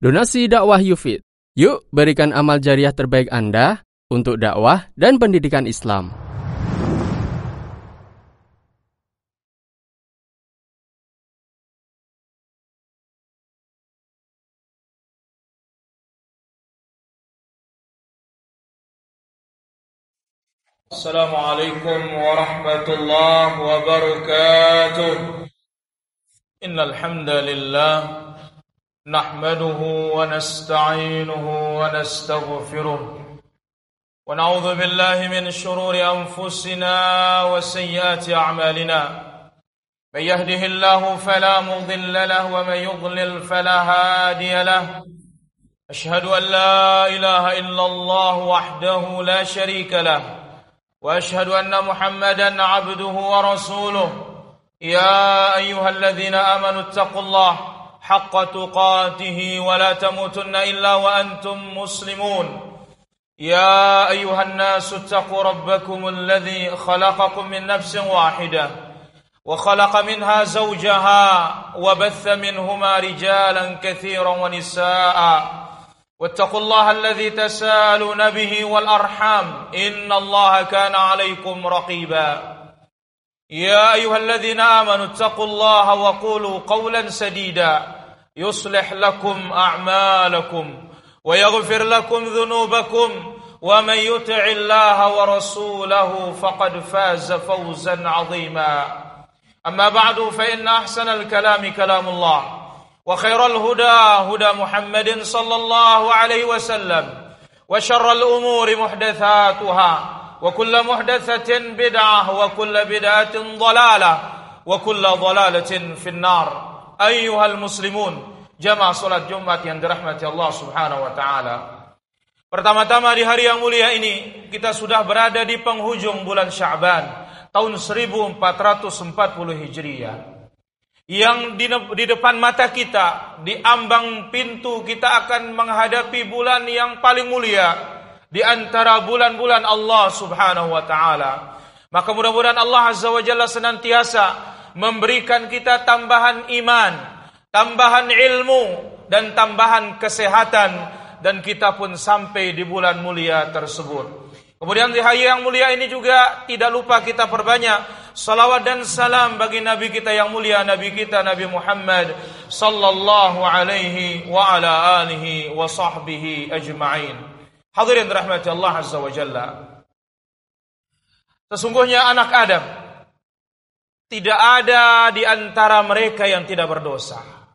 Donasi dakwah Yufid. Yuk berikan amal jariah terbaik Anda untuk dakwah dan pendidikan Islam. Assalamualaikum warahmatullahi wabarakatuh. Innal hamdalillah nahmaduhu wa nasta'inuhu wa nastaghfiruh wa na'udzu billahi min shururi anfusina wa sayyiati a'malina. May yahdihillahu fala mudilla lahu wa may yudlil fala hadiya lahu. Ashhadu an la ilaha illallah wahdahu la sharika lahu. وأشهد أن محمدا عبده ورسوله يا أيها الذين آمنوا اتقوا الله حق تقاته ولا تموتن إلا وأنتم مسلمون يا أيها الناس اتقوا ربكم الذي خلقكم من نفس واحدة وخلق منها زوجها وبث منهما رجالا كثيرا ونساء واتقوا الله الذي تسالون به والأرحام إن الله كان عليكم رقيبا يا أيها الذين آمنوا اتقوا الله وقولوا قولا سديدا يصلح لكم أعمالكم ويغفر لكم ذنوبكم ومن يطع الله ورسوله فقد فاز فوزا عظيما أما بعد فإن أحسن الكلام كلام الله وخير الهدى هدى محمد صلى الله عليه وسلم وشر الأمور محدثاتها وكل محدثة بدعة وكل بدعة ضلالة وكل ضلالة في النار. أيها المسلمون, jamaah salat Jumat yang dirahmati Allah Subhanahu wa taala. Pertama-tama di hari yang mulia ini kita sudah berada di penghujung bulan Sya'ban tahun 1440 Hijriah. Yang di depan mata kita, di ambang pintu kita akan menghadapi bulan yang paling mulia di antara bulan-bulan Allah Subhanahu wa taala. Maka mudah-mudahan Allah Azza wa Jalla senantiasa memberikan kita tambahan iman, tambahan ilmu dan tambahan kesehatan, dan kita pun sampai di bulan mulia tersebut. Kemudian di hari yang mulia ini juga tidak lupa kita perbanyak salawat dan salam bagi Nabi kita yang mulia, Nabi kita Nabi Muhammad sallallahu alaihi wa ala alihi wa sahbihi ajma'in. Hadirin rahmati Allah Azza wa Jalla. Sesungguhnya anak Adam tidak ada di antara mereka yang tidak berdosa.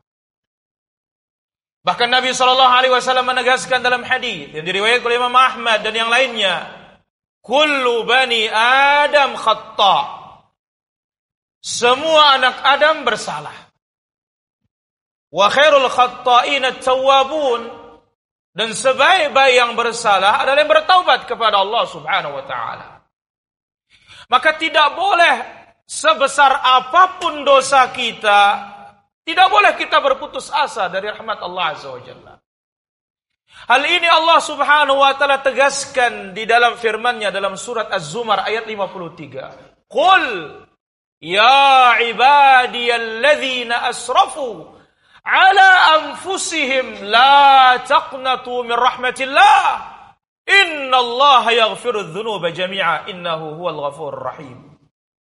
Bahkan Nabi sallallahu alaihi wasallam menegaskan dalam hadis yang diriwayatkan oleh Imam Ahmad dan yang lainnya, kullu bani Adam khata'. Semua anak Adam bersalah. Wa khairul khatta'ina at-tawwabun. Dan sebaik-baik yang bersalah adalah yang bertaubat kepada Allah Subhanahu wa taala. Maka tidak boleh sebesar apapun dosa kita, tidak boleh kita berputus asa dari rahmat Allah Azza wa Jalla. Hal ini Allah Subhanahu wa taala tegaskan di dalam firman-Nya dalam surat Az-Zumar ayat 53. Qul ya ibadiyalladzina asrafu ala anfusihim la taqnatu min rahmatillah innallaha yaghfirudz dzunuba jami'a innahu huwal ghafurur rahim.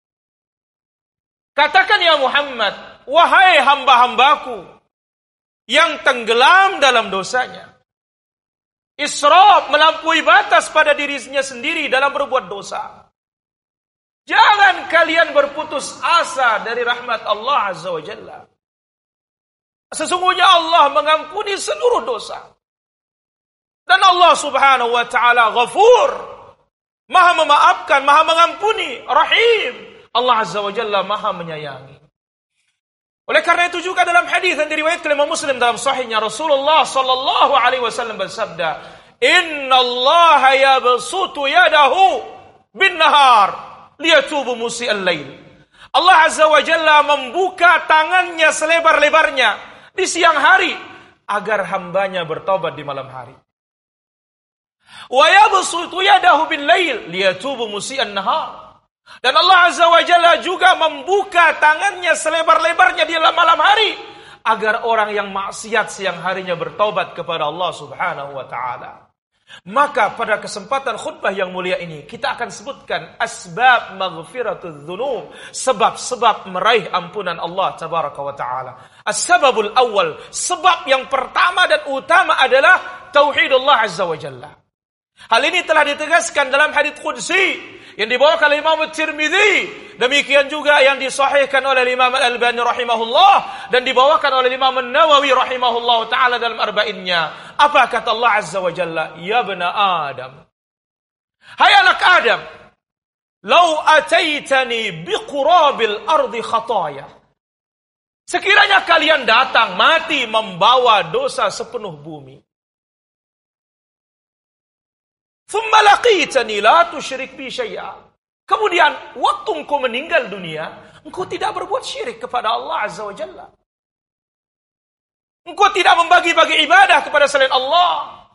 Katakan ya Muhammad, wahai hamba-hambaku yang tenggelam dalam dosanya, israf, melampaui batas pada dirinya sendiri dalam berbuat dosa. Jangan kalian berputus asa dari rahmat Allah Azza wa Jalla. Sesungguhnya Allah mengampuni seluruh dosa. Dan Allah Subhanahu wa taala Ghafur, Maha memaafkan, Maha mengampuni, Rahim. Allah Azza wa Jalla Maha menyayangi. Oleh karena itu juga dalam hadis yang diriwayatkan oleh Imam Muslim dalam sahihnya, Rasulullah sallallahu alaihi wasallam bersabda, "Innallaha yabsutu yadahu bin-nahar liyatubu musii'al lail." Allah Azza wa Jalla membuka tangannya selebar-lebarnya di siang hari agar hambanya bertobat di malam hari. Wa yabsutu yadahu bil-lail liyatubu musii'an nahar. Dan Allah Azza wa Jalla juga membuka tangannya selebar-lebarnya di malam hari agar orang yang maksiat siang harinya bertaubat kepada Allah Subhanahu wa taala. Maka pada kesempatan khutbah yang mulia ini kita akan sebutkan asbab maghfiratudz dzunub, sebab-sebab meraih ampunan Allah tabaraka wa taala. As-sababul awal, sebab yang pertama dan utama adalah tauhidullah azza wa jalla. Hal ini telah ditegaskan dalam hadits qudsi yang dibawakan oleh Imam Tirmidzi, demikian juga yang disahihkan oleh Imam Al-Albani rahimahullah dan dibawakan oleh Imam An-Nawawi rahimahullah taala dalam arba'innya. Apa kata Allah azza wa jalla? Ya bani Adam, hai anak Adam, lau ataitani biqurabil ardi khataya, sekiranya kalian datang mati membawa dosa sepenuh bumi, thumma laqitani la tusyrik bi syai'a, kemudian waktu engkau meninggal dunia, engkau tidak berbuat syirik kepada Allah azza wa jalla, engkau tidak membagi-bagi ibadah kepada selain Allah,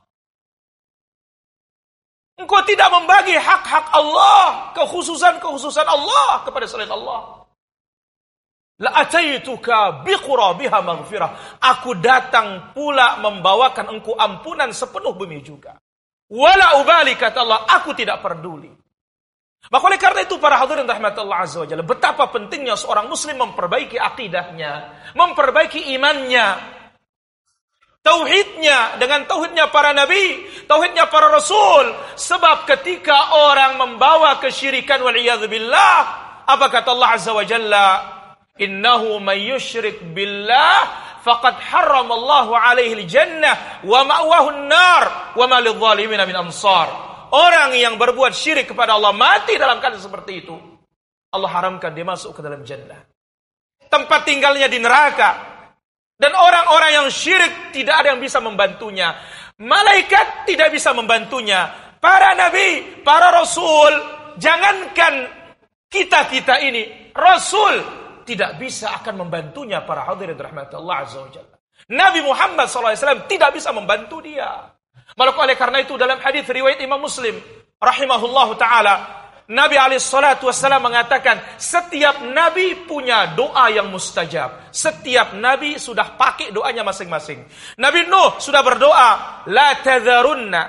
engkau tidak membagi hak-hak Allah, kekhususan Allah kepada selain Allah, la ataituka biqurabiha maghfirah, aku datang pula membawakan engkau ampunan sepenuh bumi juga. Wala ubali, kata Allah, aku tidak peduli. Maka oleh karena itu para hadirin rahmatullah azza wa jalla, betapa pentingnya seorang muslim memperbaiki akidahnya, memperbaiki imannya, tauhidnya dengan tauhidnya para nabi, tauhidnya para rasul. Sebab ketika orang membawa kesyirikan wal'iyadzubillah, apa kata Allah azza wa jalla? Innahu may yusyrik billah faqad harramallahu alaihi al-jannah wa ma'wahu an-nar wa ma lidh-dhalimin min ansar. Orang yang berbuat syirik kepada Allah mati dalam keadaan seperti itu, Allah haramkan dia masuk ke dalam jannah. Tempat tinggalnya di neraka. Dan orang-orang yang syirik tidak ada yang bisa membantunya. Malaikat tidak bisa membantunya. Para nabi, para rasul, jangankan kita ini, rasul tidak bisa akan membantunya para hadirin rahmatullah azza wa jalla. Nabi Muhammad SAW tidak bisa membantu dia. Maka oleh karena itu dalam hadis riwayat Imam Muslim rahimahullahu taala, Nabi alaihi salatu wasallam mengatakan setiap nabi punya doa yang mustajab. Setiap nabi sudah pakai doanya masing-masing. Nabi Nuh sudah berdoa, la tadharunna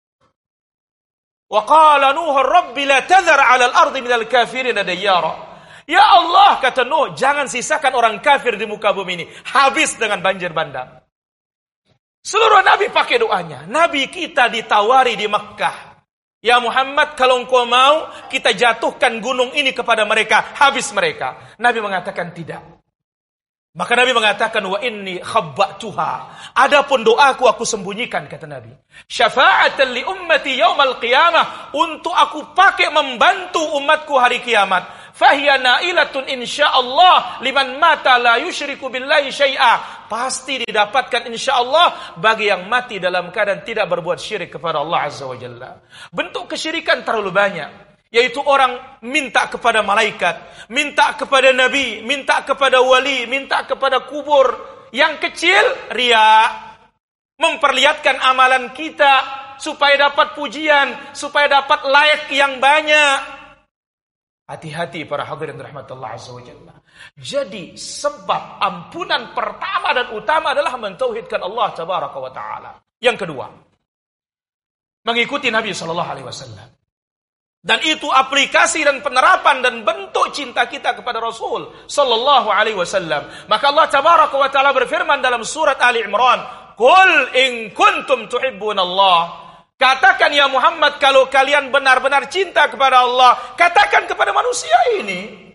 wa qala Nuh rabbi la tadhar 'ala al-ardi minal kafirin dayyara. Ya Allah, kata Nuh, jangan sisakan orang kafir di muka bumi ini. Habis dengan banjir bandang. Seluruh nabi pakai doanya. Nabi kita ditawari di Makkah. Ya Muhammad, kalau engkau mau, kita jatuhkan gunung ini kepada mereka. Habis mereka. Nabi mengatakan tidak. Maka Nabi mengatakan, wa inni khabba'tuha. Adapun doaku aku sembunyikan, kata Nabi. Syafa'atan li ummati yaumal qiyamah. Untuk aku pakai membantu umatku hari kiamat. Fahiya nailatun insyaallah liman mata la yusyriku billahi syai'a. Pasti didapatkan insyaallah bagi yang mati dalam keadaan tidak berbuat syirik kepada Allah azza wa jalla. Bentuk kesyirikan terlalu banyak, yaitu orang minta kepada malaikat, minta kepada nabi, minta kepada wali, minta kepada kubur. Yang kecil riya, memperlihatkan amalan kita supaya dapat pujian, supaya dapat like yang banyak. Hati-hati para hadirin rahmatullah azza wa jalla. Jadi sebab ampunan pertama dan utama adalah mentauhidkan Allah tabaraka wa taala. Yang kedua, mengikuti Nabi sallallahu alaihi wasallam. Dan itu aplikasi dan penerapan dan bentuk cinta kita kepada Rasul sallallahu alaihi wasallam. Maka Allah tabaraka wa taala berfirman dalam surat Ali Imran, "Qul in kuntum tuhibbunallah." Katakan ya Muhammad, kalau kalian benar-benar cinta kepada Allah, katakan kepada manusia ini,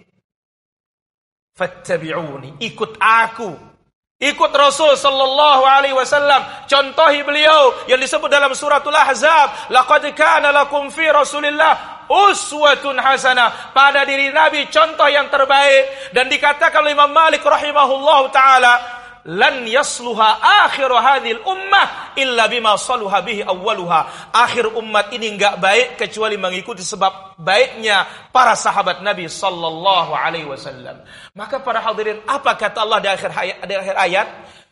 fattabi'uni, ikut aku, ikut Rasul sallallahu alaihi wasallam. Contohi beliau yang disebut dalam suratul Ahzab, laqad kana lakum fi Rasulillah uswatun hasanah. Pada diri Nabi contoh yang terbaik. Dan dikatakan oleh Imam Malik rahimahullahu taala, lan yasluha akhir hadhil ummah illa bima saluha bihi awwaluha. Akhir umat ini enggak baik kecuali mengikuti sebab baiknya para sahabat Nabi sallallahu alaihi wasallam. Maka para hadirin, apa kata Allah di akhir ayat?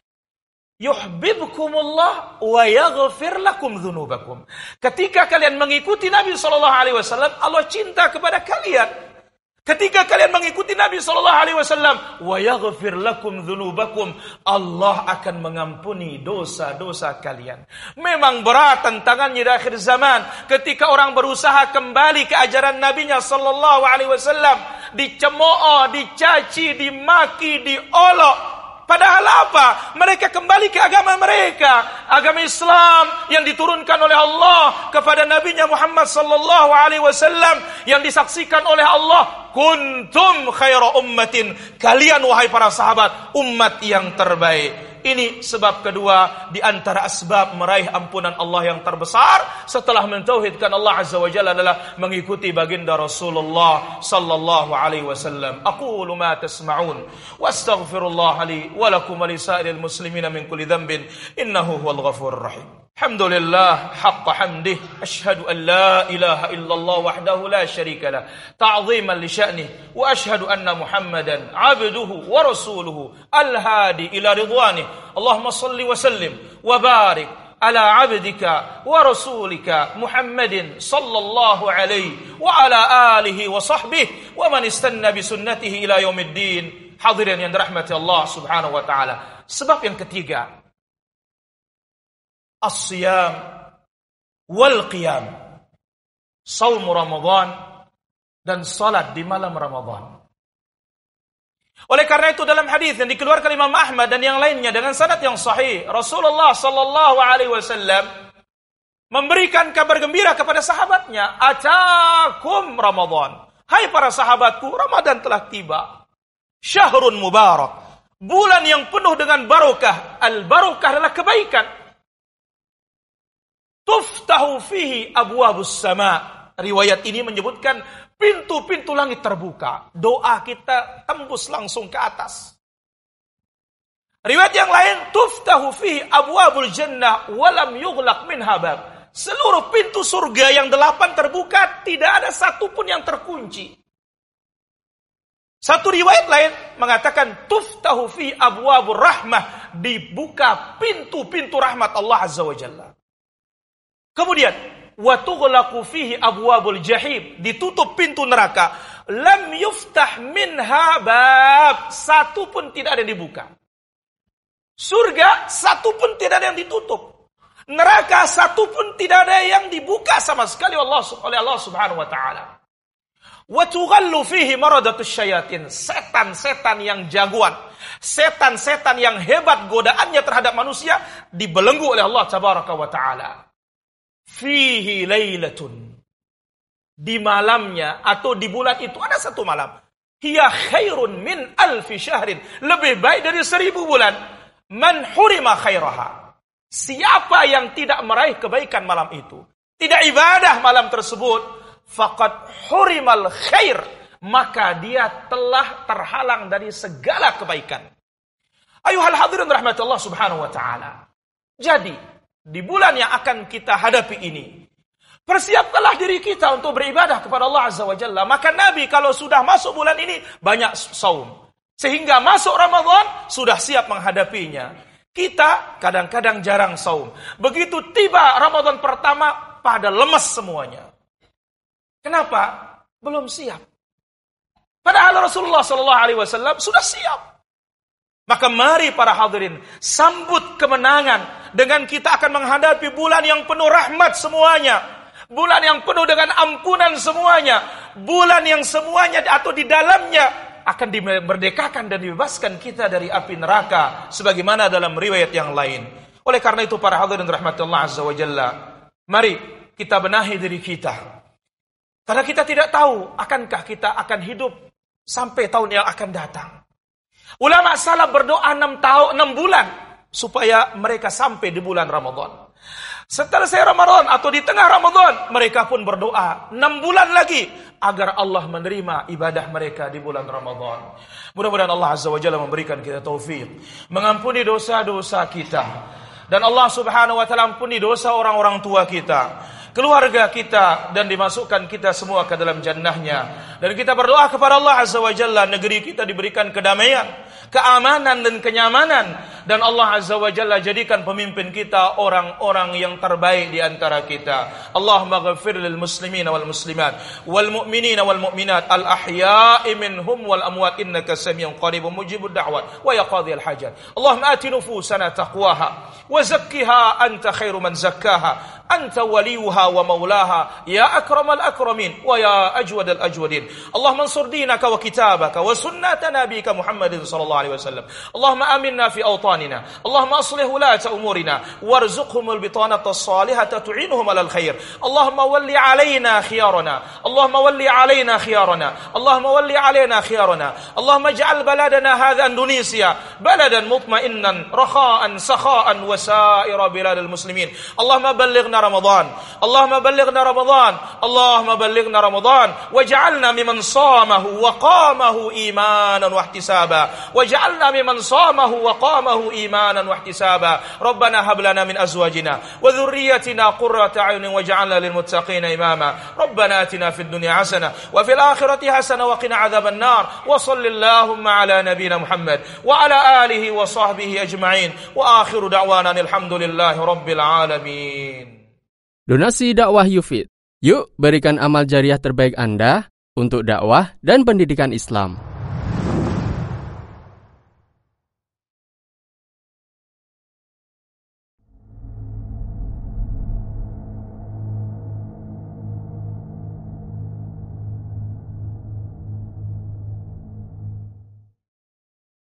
Yuhibbukumullah wa yaghfir lakum dzunubakum. Ketika kalian mengikuti Nabi sallallahu alaihi wasallam, Allah cinta kepada kalian. Ketika kalian mengikuti Nabi SAW, wa yaghfir lakum dzunubakum, Allah akan mengampuni dosa-dosa kalian. Memang berat tantangannya di akhir zaman ketika orang berusaha kembali ke ajaran Nabinya SAW, dicemooh, dicaci, dimaki, diolok. Padahal apa? Mereka kembali ke agama mereka, agama Islam yang diturunkan oleh Allah kepada Nabinya Muhammad sallallahu alaihi wasallam, yang disaksikan oleh Allah, kuntum khaira ummatin, kalian wahai para sahabat umat yang terbaik. Ini sebab kedua di antara asbab meraih ampunan Allah yang terbesar setelah mentauhidkan Allah Azza wa Jalla adalah mengikuti baginda Rasulullah sallallahu alaihi wasallam. Aqulu ma tasma'un wa astaghfirullah li wa lakum wa li sa'iril muslimina min kulli dhanbin innahu huwal ghafurur rahim. Alhamdulillah haqqa hamdih, asyhadu an la ilaha illallah wahdahu la syarika lah ta'ziman li sya'nih, wa asyhadu anna Muhammadan abduhu wa rasuluhu al-hadi ila ridwanih. Allahumma salli wa sallim wa barik ala abdika wa rasulika Muhammadin sallallahu alaihi wa ala alihi wa sahbihi wa man istanna bi sunnatihi ila yaumiddin. Hadirin yang dirahmati Allah Subhanahu wa taala. Sebab yang ketiga, as-siyam wal qiyam, saum Ramadan dan salat di malam Ramadan. Oleh karena itu dalam hadis yang dikeluarkan Imam Ahmad dan yang lainnya dengan sanad yang sahih, Rasulullah sallallahu alaihi wasallam memberikan kabar gembira kepada sahabatnya, "Atakum Ramadan." Hai para sahabatku, Ramadan telah tiba. Syahrun mubarak, bulan yang penuh dengan barokah. Al-barokah adalah kebaikan. Tuftahu fihi abwabus sama. Riwayat ini menyebutkan pintu-pintu langit terbuka. Doa kita tembus langsung ke atas. Riwayat yang lain, tuftahu fihi abwabul jannah walam yughlaq minha bab. Seluruh pintu surga yang 8 terbuka, tidak ada satupun yang terkunci. Satu riwayat lain mengatakan tuftahu fihi abwabur rahmah, dibuka pintu-pintu rahmat Allah Azza wa Jalla. Kemudian wa tughlaqu fihi abwabul jahim, ditutup pintu neraka. Lam yuftah minha bab, satu pun tidak ada yang dibuka. Surga satu pun tidak ada yang ditutup. Neraka satu pun tidak ada yang dibuka sama sekali oleh Allah Subhanahu wa taala. Wa tughallu fihi maradatus syayatin, setan-setan yang jagoan, setan-setan yang hebat godaannya terhadap manusia dibelenggu oleh Allah Tabaraka wa taala. Fihi lailatun, di malamnya atau di bulan itu ada satu malam, hiya khairun min alfi syahrin, lebih baik dari 1000 bulan. Man hurima khairaha, siapa yang tidak meraih kebaikan malam itu, tidak ibadah malam tersebut, faqad hurimal khair, maka dia telah terhalang dari segala kebaikan. Ayuhal hadirin rahmatullah subhanahu wa ta'ala. Jadi di bulan yang akan kita hadapi ini, persiapkanlah diri kita untuk beribadah kepada Allah Azza wa Jalla. Maka Nabi kalau sudah masuk bulan ini banyak saum, sehingga masuk Ramadan sudah siap menghadapinya. Kita kadang-kadang jarang saum. Begitu tiba Ramadan pertama pada lemes semuanya. Kenapa? Belum siap. Padahal Rasulullah SAW sudah siap. Maka mari para hadirin sambut kemenangan dengan kita akan menghadapi bulan yang penuh rahmat semuanya. Bulan yang penuh dengan ampunan semuanya. Bulan yang semuanya atau di dalamnya akan dimerdekakan dan dibebaskan kita dari api neraka. Sebagaimana dalam riwayat yang lain. Oleh karena itu para hadirin rahmatullah azza wa jalla, mari kita benahi diri kita. Karena kita tidak tahu akankah kita akan hidup sampai tahun yang akan datang. Ulama salaf berdoa 6 bulan supaya mereka sampai di bulan Ramadan. Setelah Ramadan atau di tengah Ramadan, mereka pun berdoa 6 bulan lagi agar Allah menerima ibadah mereka di bulan Ramadan. Mudah-mudahan Allah Azza wa Jalla memberikan kita taufik, mengampuni dosa-dosa kita, dan Allah Subhanahu wa taala ampuni dosa orang-orang tua kita, keluarga kita, dan dimasukkan kita semua ke dalam jannahnya. Dan kita berdoa kepada Allah Azza wa Jalla, negeri kita diberikan kedamaian, keamanan dan kenyamanan, dan Allah Azza wa Jalla jadikan pemimpin kita orang-orang yang terbaik di antara kita. Allahumma ghafir lil muslimina wal muslimat wal mu'minina wal mu'minat al ahya'i minhum wal amwat innaka samiyyun qaribun mujibud da'wat wa ya qadhiyal hajat. Allahumma ati nufusana taqwaha wa zakkiha anta khairu man zakkaha أنت وليها ومولاها يا أكرم الأكرمين ويا أجود الأجودين. اللهم انصر دينك وكتابك وسنة نبيك محمد صلى الله عليه وسلم. اللهم آمنا في أوطاننا. اللهم أصلح ولاة أمورنا وارزقهم البطانة الصالحة تعينهم على الخير. اللهم ولي علينا خيارنا. اللهم ولي علينا خيارنا. اللهم ولي علينا خيارنا. اللهم اجعل بلدنا هذا إندونيسيا بلدا مطمئنا رخاء سخاء وسائر بلاد المسلمين. اللهم بلغنا رمضان. اللهم بلغنا رمضان. اللهم بلغنا رمضان واجعلنا ممن صامه وقامه إيمانا واحتسابا. واجعلنا ممن صامه وقامه إيمانا واحتسابا. ربنا هب لنا من أزواجنا وذريتنا قرة أعين واجعلنا للمتقين إماما. ربنا آتنا في الدنيا حسنة وفي الآخرة حسنة وقنا عذاب النار. وصل اللهم على نبينا محمد وعلى آله وصحبه أجمعين. وآخر دعوانا الحمد لله رب العالمين. Donasi dakwah Yufid. Yuk berikan amal jariah terbaik Anda untuk dakwah dan pendidikan Islam.